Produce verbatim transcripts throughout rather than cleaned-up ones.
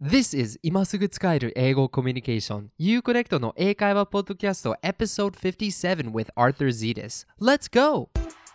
This is 今すぐ使える英語コミュニケーション Uconnect の英会話ポッドキャスト Episode fifty-seven with Arthur Zetas. Let's go!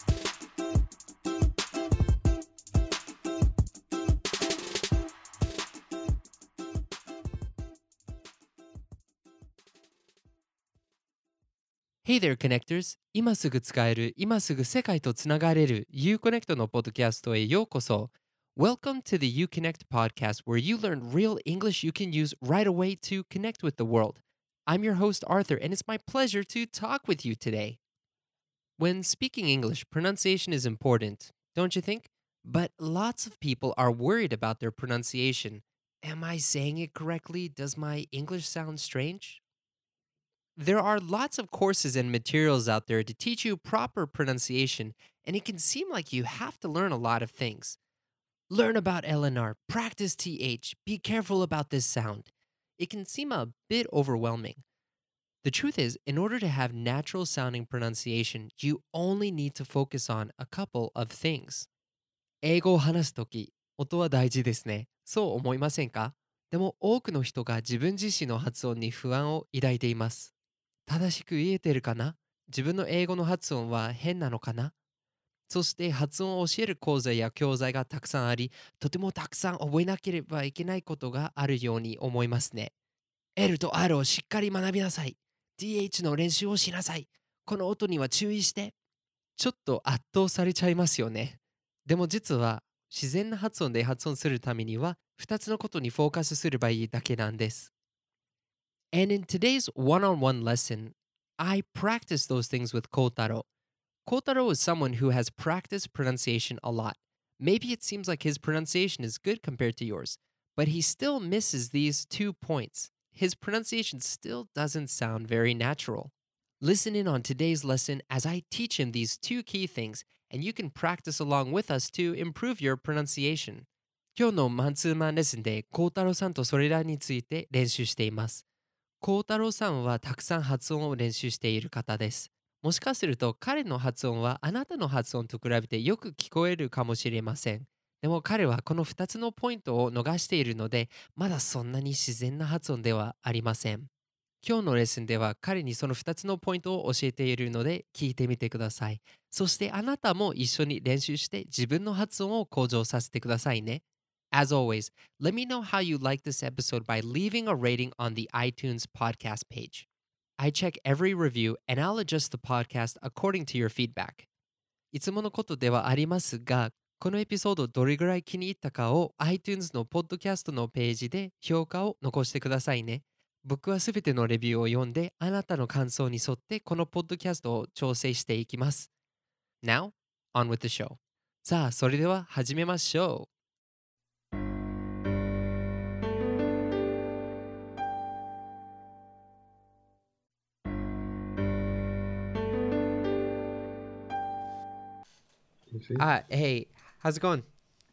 Hey there, Connectors! 今すぐ使える、今すぐ世界とつながれる Uconnect のポッドキャストへようこそ。Welcome to the Uconnect podcast, where you learn real English you can use right away to connect with the world. I'm your host, Arthur, and it's my pleasure to talk with you today. When speaking English, pronunciation is important, don't you think? But lots of people are worried about their pronunciation. Am I saying it correctly? Does my English sound strange? There are lots of courses and materials out there to teach you proper pronunciation, and it can seem like you have to learn a lot of things. Learn about L N R, practice T H, be careful about this sound. It can seem a bit overwhelming. The truth is, in order to have natural sounding pronunciation, you only need to focus on a couple of things. 英語を話すとき、音は大事ですね。そう思いませんか？でも多くの人が自分自身の発音に不安を抱いています。正しく言えてるかな？自分の英語の発音は変なのかな？そして発音を教える講座や教材がたくさんあり、とてもたくさん覚えなければいけないことがあるように思いますね。L と R をしっかり学びなさい。ティーエイチ の練習をしなさい。この音には注意して。ちょっと圧倒されちゃいますよね。でも実は自然な発音で発音するためにはふたつのことにフォーカスすればいいだけなんです。And in today's one-on-one lesson, I practice those things with Kotaro.Kotaro is someone who has practiced pronunciation a lot. Maybe it seems like his pronunciation is good compared to yours, but he still misses these two points. His pronunciation still doesn't sound very natural. Listen in on today's lesson as I teach him these two key things, and you can practice along with us to improve your pronunciation. 今日のマンツーマンレッスンで孝太郎さんとそれらについて練習しています。孝太郎さんはたくさん発音を練習している方です。もしかすると彼の発音はあなたの発音と比べてよく聞こえるかもしれません。でも彼はこのふたつのポイントを逃しているので、まだそんなに自然な発音ではありません。今日のレッスンでは彼にそのふたつのポイントを教えているので聞いてみてください。そしてあなたも一緒に練習して自分の発音を向上させてくださいね。As always, let me know how you like this episode by leaving a rating on the iTunes podcast page.I check every review and I'll adjust the podcast according to your feedback. いつものことではありますが、このエピソードどれぐらい気に入ったかを iTunes のポッドキャストのページで評価を残してくださいね。僕はすべてのレビューを読んであなたの感想に沿ってこのポッドキャストを調整していきます。Now, on with the show. さあ、それでは始めましょう。Ah, hey, how's it going?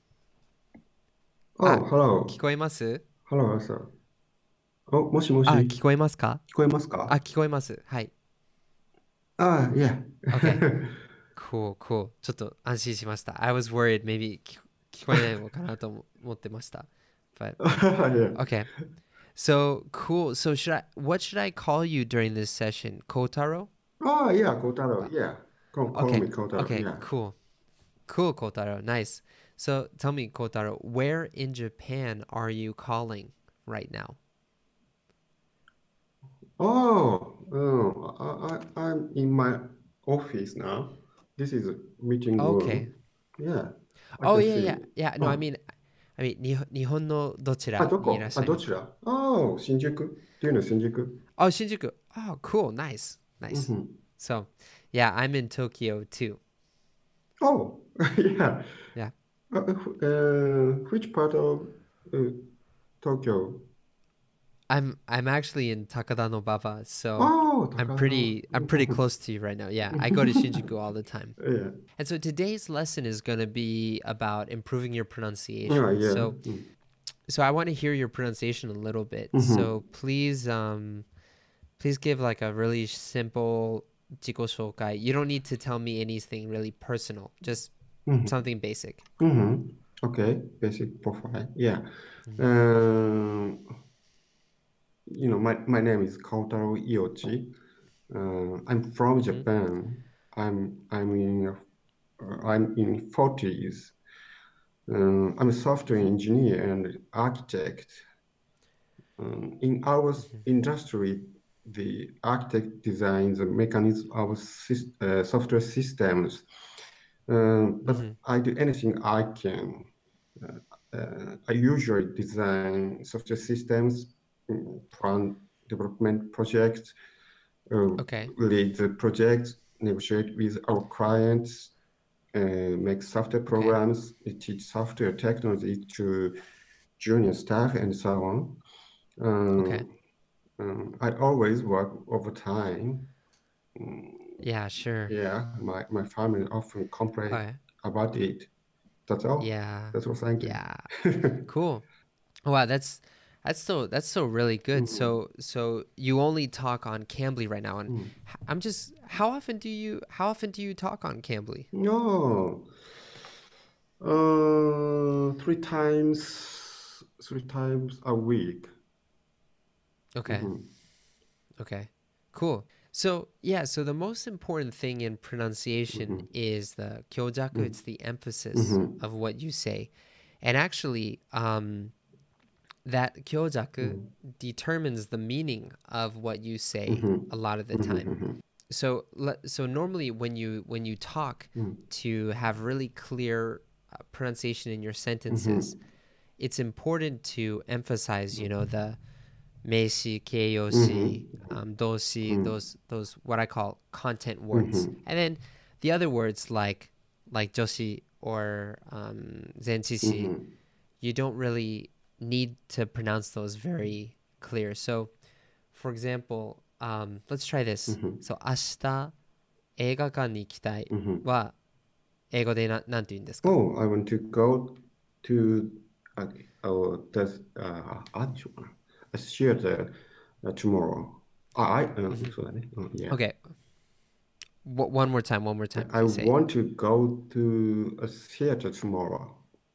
Oh, あ、 hello. 聞こえます Hello, Arthur. お、もしもし。 あ、聞こえますか聞こえますあ、 か？ 聞こえます。はい。 あ、yeah. Okay. Cool, cool. ちょっと安心しました。I was worried maybe 聞聞こえないのかなと思ってました。But, yeah. okay. So, cool. So, should I, what should I call you during this session? Kotaro? Oh, yeah, Kotaro. Yeah. Call, call Okay. me Kotaro. Okay, Yeah. cool. Cool, Kotaro. Nice. So, tell me, Kotaro, where in Japan are you calling right now? Oh, oh I, I, I'm in my office now. This is a meeting Okay. room. Yeah. I Oh, can yeah, yeah. see. Yeah, no, I Oh, mean, I mean, に日本のどちあ、 らにいらっどこあ、 しゃいますか？ どちら？ Oh, 新宿っていうの新宿。 Oh, Shinjuku. Oh, cool. Nice. うん Nice. ふん。 So, yeah, I'm in Tokyo too. Oh, yeah. Yeah. Uh, uh, which part of uh, Tokyo? I'm I'm actually in Takadanobaba, so Oh, I'm 高野。 pretty I'm pretty close to you right now. Yeah, I go to Shinjuku all the time. Yeah. And so today's lesson is going to be about improving your Yeah, pronunciation. yeah. So うん so I want to hear your pronunciation a little bit. うんふん So please um please give like a really simple 自己紹介. You don't need to tell me anything really personal. Just うんふん something basic. うんふん Okay, basic profile. Yeah. Mhm. Um, my, my name is Kotaro Iochi. Uh, I'm from Mm-hmm. Japan. I'm I'm in uh, I'm in forties. Um, I'm a software engineer and architect. Um, in our Mm-hmm. industry, the architect designs the mechanism of sys- uh, software systems. Um, but Mm-hmm. I do anything I can. Uh, uh, I usually design software systems, mm, plan development projects, uh, Okay. lead the projects, negotiate with our clients, uh, make software Okay. programs, teach software technology to junior staff, and so on. Okay. Um, um, I always work overtime. Mm, Yeah, sure. yeah, my, my family often complain Okay. about it. That's all. Yeah. That's all. Thank you. Yeah. Cool. Wow, that's that's so that's so really good. Mhm, So so you only talk on Cambly right now, and mhm. h- I'm just how often do you how often do you talk on Cambly? No, uh, three times, three times a week. Okay. Mhm, Okay. Cool. So yeah, so the most important thing in pronunciation mhm, is the kyojaku, mhm, it's the emphasis mhm, of what you say. And actually, um, that kyojaku mhm, determines the meaning of what you say mhm, a lot of the mhm, time. mhm, So le- so normally when you when you talk mhm, to have really clear uh, pronunciation in your sentences, mhm, it's important to emphasize, you know, the meishi, keiyoshi, mhm, um, doshi, mhm, those those what I call content words, mhm, and then the other words like like joshi or um, zenchishi, mhm, you don't really need to pronounce those very clear. So, for example, um, let's try this. mhm, So, 明日映画館に行きたい mhm. は英語でな、なんて言うんですか？ Oh, I want to go to uh, oh, that's uh, あ、でしょうかな。A theater uh, tomorrow. あ、I, うん、 Mhm. そうだね。うん、yeah. Okay. W- one more time, one more time. I Please say it. want to go to a theater tomorrow.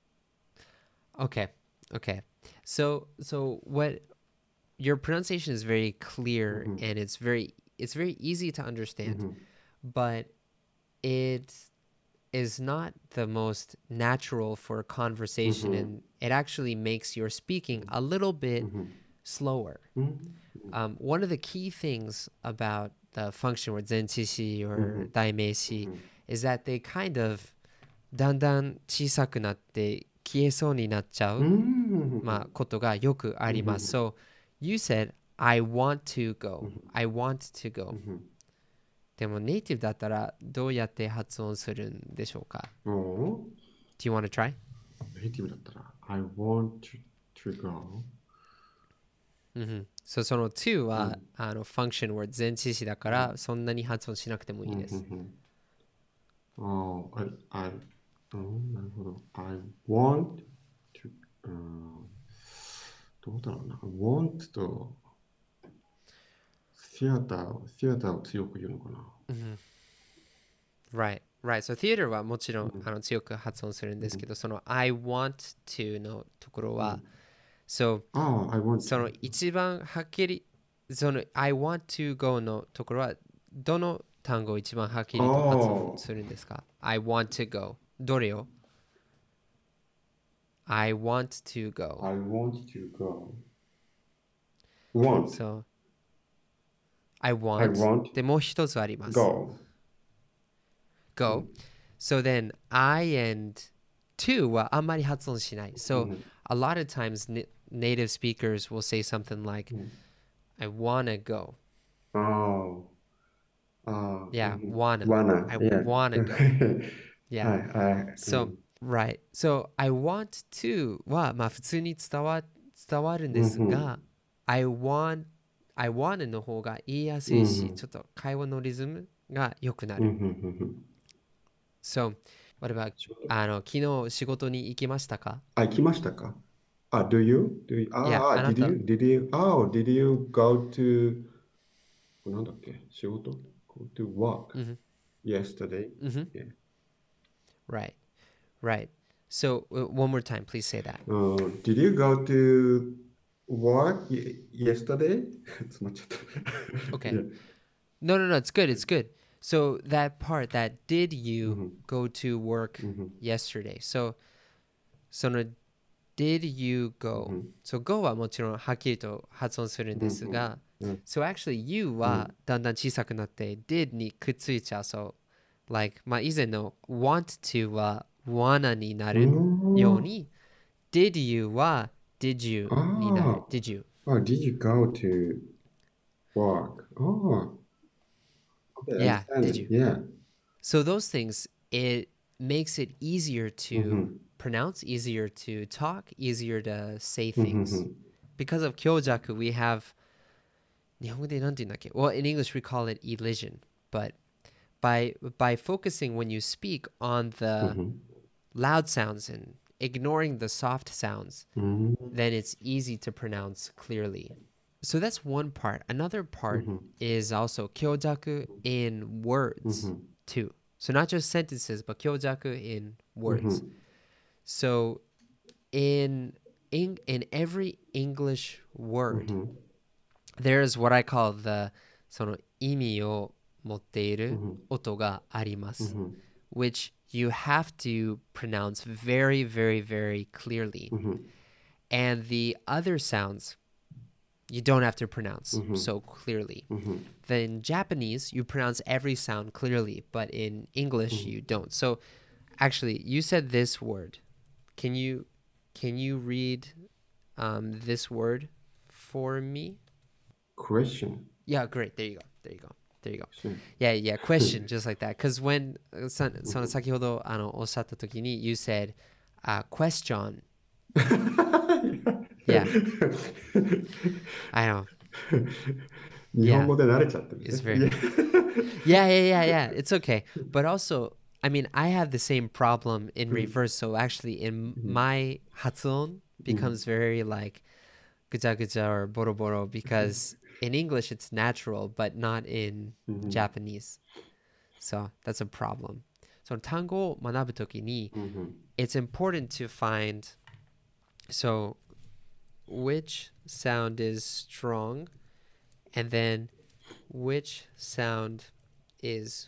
Okay. Okay. So, so what your pronunciation is very clear Mhm, and it's very it's very easy to understand, mhm, but it is not the most natural for conversation, mhm, and it actually makes your speaking a little bit mhm, slower. mhm, Um, one of the key things about the function word zenchishi or mhm, daimeishi mhm, is that they kind of だんだん小さくなって消えそうになっちゃう、まあ、 mhm, ことがよくあります。 mhm, So, you said, I want to go. mhm, I want to go. mhm. でもネイティブだったらどうやって発音するんでしょうか？ お Do you want to try? ネイティブだったら I want to, to go. うんうん。So, その to は、 うん、 あの、function word 前置詞だかうん、 らそんなに発音しなくてもうん、 いいです。 うん。Oh, I, I, うん、なるほど。I want to, うん、どうだろうな。want と theater を、theater を強く言うのかな。 うん。Right, right. So, theater はもちろんうん、 あの強く発音するんうん、 ですけど、その I want to のところは、 うん。 So, ああ、I want そ to. の一番はっきり、その I want to go のところは、どの単語を一番はっきりと発音するんですか？ I want to go。どれを？ I want to go. I want to go. Want. So, I I want. want で、もう一つあります。 go. う Go. ん、 So then, I and to はあんまり発音しない。 う So, ん、 a lot of times na- native speakers will say something like, うん。 I wanna go. ああ、ああ、う Yeah, ん、 wanna. wanna. I Yeah. wanna go. は Yeah. い、はい。う So, ん、 right. So, I want to は、まあ普通に伝わ、伝わるんでうん、うん、 すが、I want, I wanna の方が言いやすうん、 いし、 うん、 ちょっと会話のリズムが良くなうん、うる。 ん。 So, what about 仕事。 あの、昨日仕事に行きましたか？ あ、行きましたか？あ、do you? Do you? いや、 ああ、 あな did た、 you? Did you? Oh, did you go to なんだっけ仕事 ?Go to work Mhm, yesterday? mhm. Yeah. Right, right. So, uh, one more time, please say that. Uh, did you go to work y- yesterday? 詰まっちゃった。 Okay. Yeah. No, no, no. It's good. It's good. So that part, that did you Mhm. go to work Mhm. yesterday? So, その did you go? Mhm. So go はもちろんはっきりと発音するんですが、 うん so actually you はだんだん小さくなって did にくっついちゃう。So, like まあ以前の want to は wanna になうるようん 。 に did you は did you になる。 あ did you. あ。Oh, did you go to work? Oh, okay, I Yeah, understand did it. you. Yeah. So those things, it makes it easier to Mhm. pronounce, easier to talk, easier to say things. Mhm. Because of kyojaku, we have 日本語でなんて言うんだっけ? Well, in English we call it elision, but by by focusing when you speak on the Mhm. loud sounds and ignoring the soft sounds, Mhm. then it's easy to pronounce clearly. So that's one part. Another part Mhm. is also kyojaku in words Mhm. too. So not just sentences, but kyojaku in words. Mhm. So in in, in every English word, Mhm. there's what I call the その意味を持っている Mhm. 音があります Mhm. which you have to pronounce very, very, very clearly. Mhm. And the other sounds you don't have to pronounce Mhm. so clearly. Mhm. Then in Japanese, you pronounce every sound clearly, but in English, you don't. So actually, you said this word. Can you can you read um, this word for me? Question. Yeah, great. There you go. There you go. There you go. Sure. Yeah, yeah. Question, just like that. Because when さその先ほどあのおっしゃった時に you said uh, question. Yeah, I know. 日本語で慣れちゃってるんで It's すね。 very yeah, yeah, yeah, yeah. It's okay. But also, I mean, I have the same problem in reverse. So actually, in my 発音 becomes very like ぐちゃぐちゃ or ボロボロ because in English it's natural, but not in Japanese. So that's a problem. So 単語を学ぶときに it's important to find so which sound is strong and then which sound is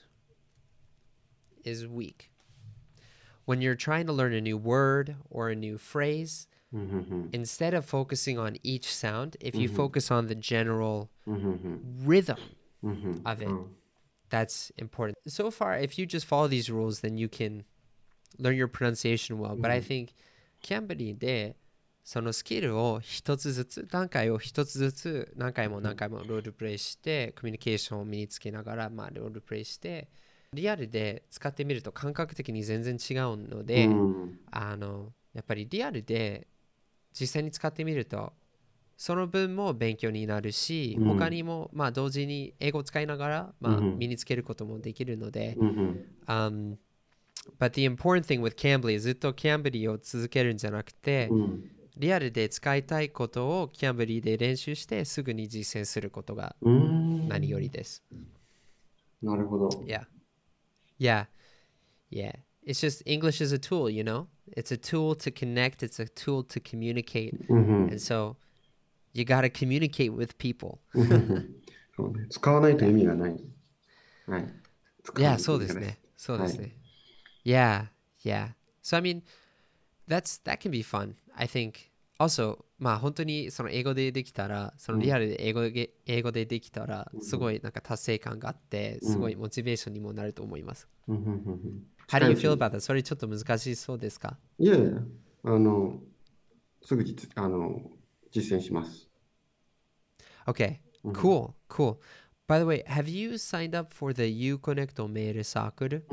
is weak. When you're trying to learn a new word or a new phrase, instead of focusing on each sound, if you focus on the general rhythm of it, that's important. So far, if you just follow these rules, then you can learn your pronunciation well. But I think Cambly でそのスキルを一つずつ段階を一つずつ何回も何回もロールプレイしてコミュニケーションを身につけながら、まあ、ロールプレイしてリアルで使ってみると感覚的に全然違うので、あのやっぱりリアルで実際に使ってみるとその分も勉強になるし、他にもまあ同時に英語を使いながら、まあ、身につけることもできるので、um, but the important thing with Cambly ずっと Cambly を続けるんじゃなくて、リアルで使いたいことを Cambly で練習してすぐに実践することが何よりです。 なるほど。 Yeah. Yeah. Yeah. It's just English is a tool, you know? It's a tool to connect, it's a tool to communicate. And so you got to communicate with people. そうね、使わないと意味がない。はい。使わ Yeah, ないとそう意味がない。 ですね。そうですね。Yeah, yeah. So I mean, that's that can be fun. I think also まあ本当にその英語でできたら、そのリアルで英語で、英語でできたらすごいなんか達成感があって、すごいモチベーションにもなると思います。How do you feel about that? それちょっと難しそうですか？ いやいや、あの、すぐ実、あの、実践します。 Okay, cool, cool. By the way, have you signed up for the Uconnect メールサークル?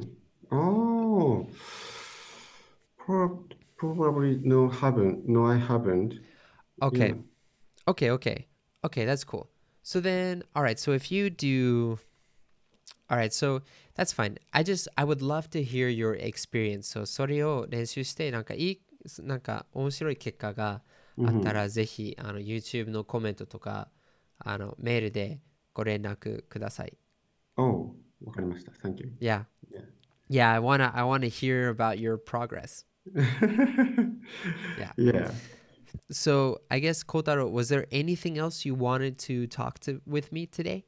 Oh, probably no, haven't. No, I haven't. Okay, Yeah. okay, okay. Okay, that's cool. So then, all right, so if you do, all right, so that's fine. I just, I would love to hear your experience. So それを練習して、なんかいい、なんか面白い結果があったら、ぜひ、あの、YouTube のコメントとか、あの、メールでご連絡ください。 Oh, わかりました。Thank you. Yeah. Yeah, I wanna, I wanna hear about your progress. Yeah. Yeah. So I guess Kotaro, was there anything else you wanted to talk to with me today?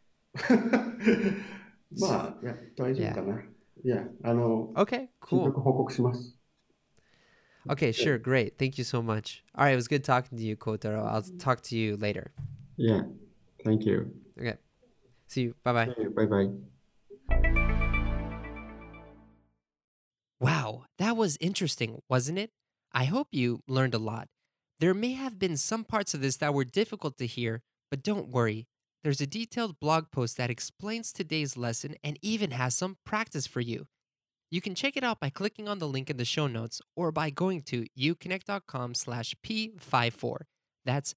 まあ、いや、大丈夫 Yeah. かな。いや、あの、 Okay, 進 cool. 捗報告します。 Okay, sure, great. Thank you so much. All right, it was good talking to you, Kotaro. I'll talk to you later. Yeah, thank you. Okay. See you. Bye-bye. See you. Bye bye. Wow, that was interesting, wasn't it? I hope you learned a lot. There may have been some parts of this that were difficult to hear, but don't worry. There's a detailed blog post that explains today's lesson and even has some practice for you. You can check it out by clicking on the link in the show notes or by going to uconnect.com slash p54. That's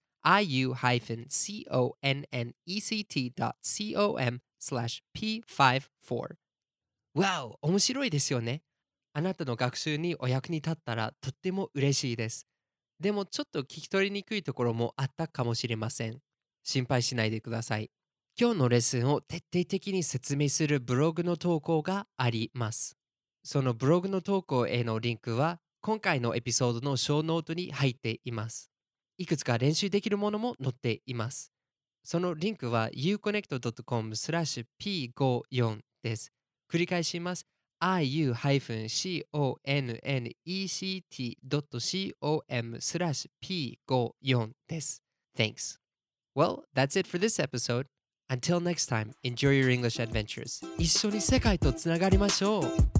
iu-connect dot com slash p54. Wow, 面白いですよね。あなたの学習にお役に立ったらとっても嬉しいです。でもちょっと聞き取りにくいところもあったかもしれません。心配しないでください。今日のレッスンを徹底的に説明するブログの投稿があります。そのブログの投稿へのリンクは今回のエピソードのショーノートに入っています。いくつか練習できるものも載っています。そのリンクは ユーコネクトドットコムスラッシュピーごじゅうよん です。繰り返します。iu-connect.com スラッシュ ピーごじゅうよん です。Thanks. Well, that's it for this episode. Until next time, enjoy your English adventures. 一緒に世界とつながりましょう。